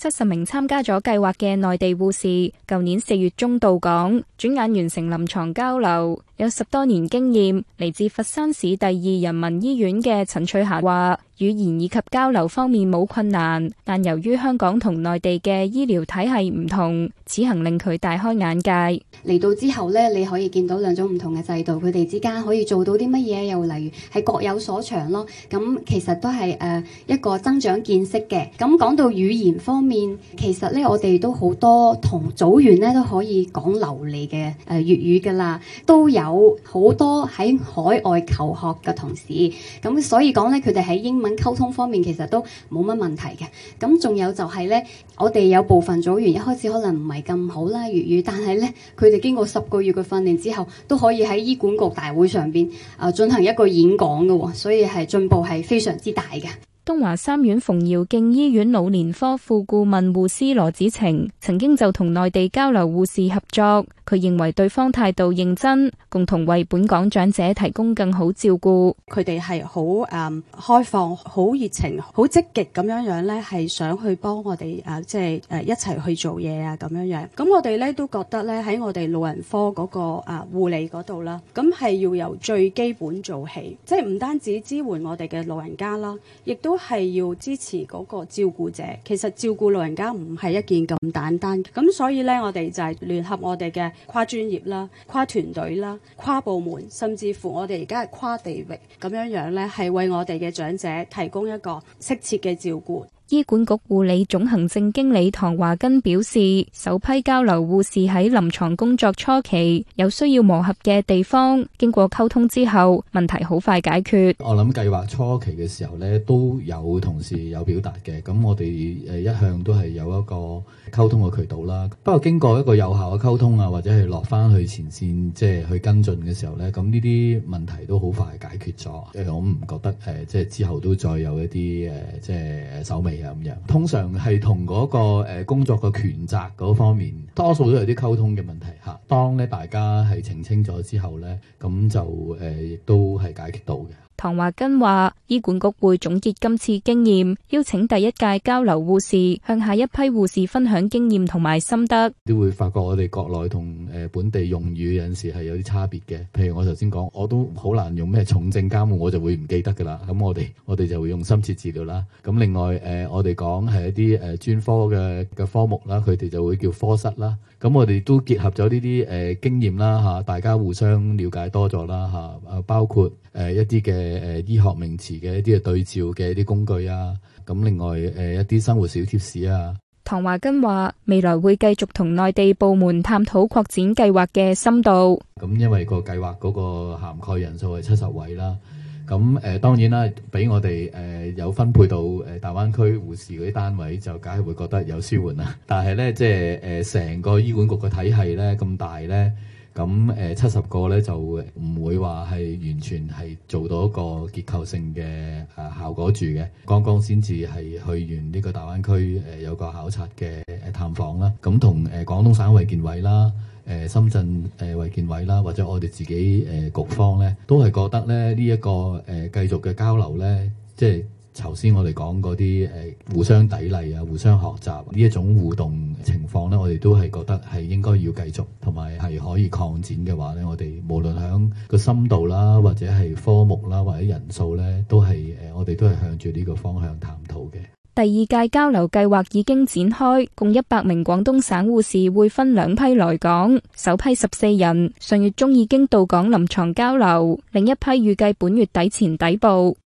70名參加咗計劃嘅內地護士，舊年4月中到港，轉眼完成臨床交流。有10多年經驗，嚟自佛山市第2人民醫院嘅陳翠霞話，語言以及交流方面冇困難，但由於香港同內地嘅醫療體系唔同，此行令佢大開眼界。 嚟到之後呢，你可以見到兩種唔同嘅制度，佢哋之間可以做到啲乜嘢，又例如係各有所長咯。咁其實都係一個增長見識嘅。咁講到語言方面，其實呢，我哋都好多同組員呢都可以講流利嘅粵語㗎啦，都有好多喺海外求學嘅同事。咁所以講呢，佢哋喺英文溝通方面其實都冇乜問題嘅。咁仲有就係呢，我哋有部分組員一開始可能唔係咁好啦粵語，但係呢，佢哋經過10個月嘅訓練之後，都可以喺醫管局大會上邊進行一個演講嘅，所以係進步係非常之大嘅。 東華三院馮堯敬醫院老年科副顧問護師羅子晴曾經就同內地交流護士合作，佢認為對方態度認真，共同為本港長者提供更好照顧。 佢哋係好開放、好熱情、好積極咁樣咧，係想去幫我哋一齊去做嘢啊咁樣。咁我哋咧都覺得咧喺我哋老人科嗰個護理嗰度啦，咁係要由最基本做起，即係唔單止支援我哋嘅老人家啦，亦都係要支持嗰個照顧者。其實照顧老人家唔係一件咁簡單，咁所以咧我哋就係聯合我哋嘅跨專業啦、跨團隊啦、跨部門，甚至乎我哋而家係跨地域咁樣咧，係為我哋嘅長者提供一個適切嘅照顧。 醫管局護理總行政經理唐華根表示，首批交流護士喺臨床工作初期有需要磨合嘅地方，經過溝通之後，問題好快解決。 我諗計劃初期嘅時候呢，都有同事有表達嘅，咁我哋一向都係有一個溝通嘅渠道啦。不過經過一個有效嘅溝通啊，或者係落翻去前線即係去跟進嘅時候呢，咁呢啲問題都好快解決咗。我唔覺得即係之後都再有一啲即係手尾咁樣，通常係同嗰個工作嘅權責嗰方面，多數都有啲溝通嘅問題嚇。當咧大家係澄清咗之後咧，咁就亦都係解決到嘅。 唐華根話，醫管局會總結今次經驗，邀請第一屆交流護士向下一批護士分享經驗同埋心得。 都會發覺我哋國內同本地用語有陣時係有啲差別嘅。譬如我頭先講，我都好難用咩重症監護，我就會唔記得㗎啦。咁我哋就會用深切治療啦。咁另外我哋講係一啲專科嘅科目啦，佢哋就會叫科室啦。咁我哋都結合咗呢啲經驗啦嚇，大家互相了解多咗啦嚇，包括一啲嘅醫學名詞嘅一啲嘅對照嘅一啲工具啊，咁另外一啲生活小貼士啊。 唐華根話，未來會繼續同內地部門探討擴展計劃嘅深度。 咁因為個計劃嗰個涵蓋人數係70位啦。咁當然啦，俾我哋有分配到大灣區護士嗰啲單位，就梗係會覺得有舒緩啦。但係咧，即係成個醫管局嘅體系咧咁大咧，咁70個咧就唔會話係完全係做到一個結構性嘅效果住嘅。剛剛先至係去完呢個大灣區有個考察嘅探訪啦，咁同廣東省衛健委啦。深圳衛健委啦，或者我哋自己局方咧，都係覺得咧呢一個繼續嘅交流咧，即係頭先我哋講嗰啲互相砥礪啊、互相學習呢一種互動情況咧，我哋都係覺得係應該要繼續，同埋係可以擴展嘅話咧，我哋無論響個深度啦，或者係科目啦，或者人數咧，都係我哋都係向住呢個方向探討嘅。 第2屆交流計劃已經展開，共100名廣東省護士會分2批來港，首批14人上月中已經到港臨床交流，另一批預計本月底前抵埗。